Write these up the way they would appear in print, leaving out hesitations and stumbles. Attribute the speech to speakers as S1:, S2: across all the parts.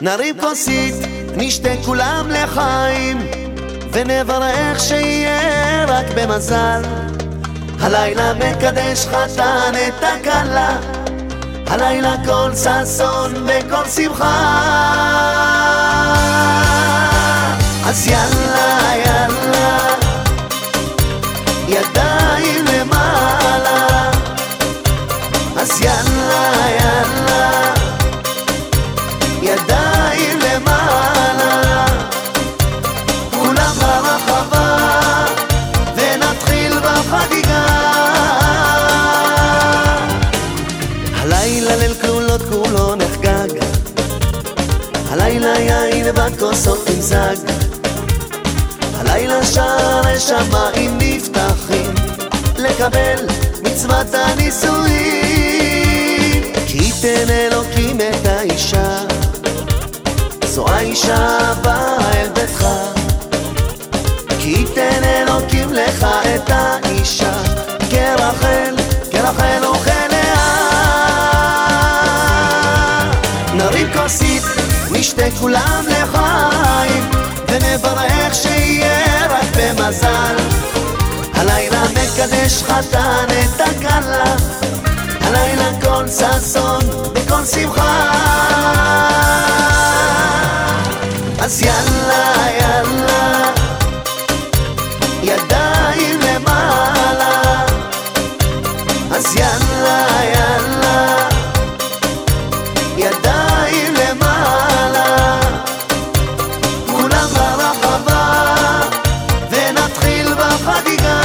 S1: נרים כוסית, נשתה כולם לחיים, ונברך שיהיה רק במזל. הלילה מקדש חתן את הכלה, הלילה כל ששון וכל שמחה. אז יאללה יאללה, ידיים למעלה. אז יאללה יאללה, ידיים למעלה. כולם ברחבה ונתחיל בחגיגה. הלילה ליל כלולות כולו נחגג, הלילה יין בכוסות נמזג, הלילה שערי שמיים נפתחים לקבל מצוות הנישואין. כי ייתן אלוקים את האישה, זו האישה הבאה אל ביתך. כי ייתן אלוקים לך את האישה, כרחל, כרחל וכלאה. נרים כוסית, נשתה כולם לחיים, ונברך שיהיה רק במזל. הלילה מקדש חתן את הכלה, הלילה כל ששון וכל שמחה. אז יאללה יאללה, ידיים למעלה. אז יאללה יאללה, ידיים למעלה. כולם ברחבה ונתחיל בחגיגה.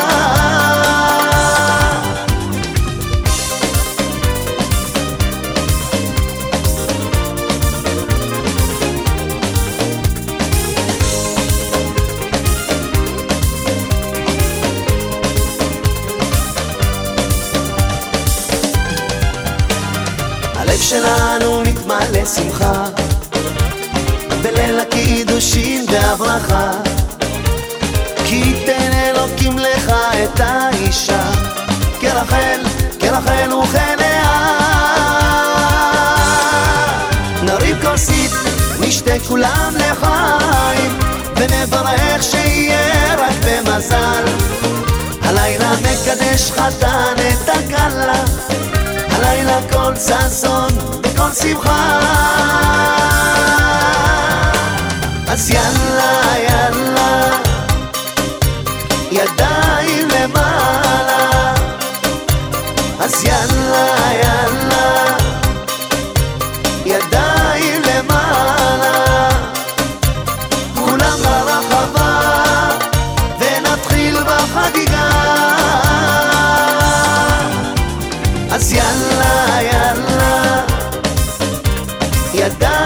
S1: הלב שלנו מתמלא שמחה בליל הקידושין והברכה. כי ייתן אלוקים לך את האישה, כרחל, כרחל וכלאה. נרים כוסית, נשתה כולם לחיים, ונברך שיהיה רק במזל. הלילה מקדש חתן את הכלה, הלילה כל ששון וכל שמחה. אז יאללה יאללה, ידיים למעלה. אז יאללה יאללה, ידיים למעלה. כולם ברחבה ונתחיל בחגיגה. אז יאללה יאללה, ידיים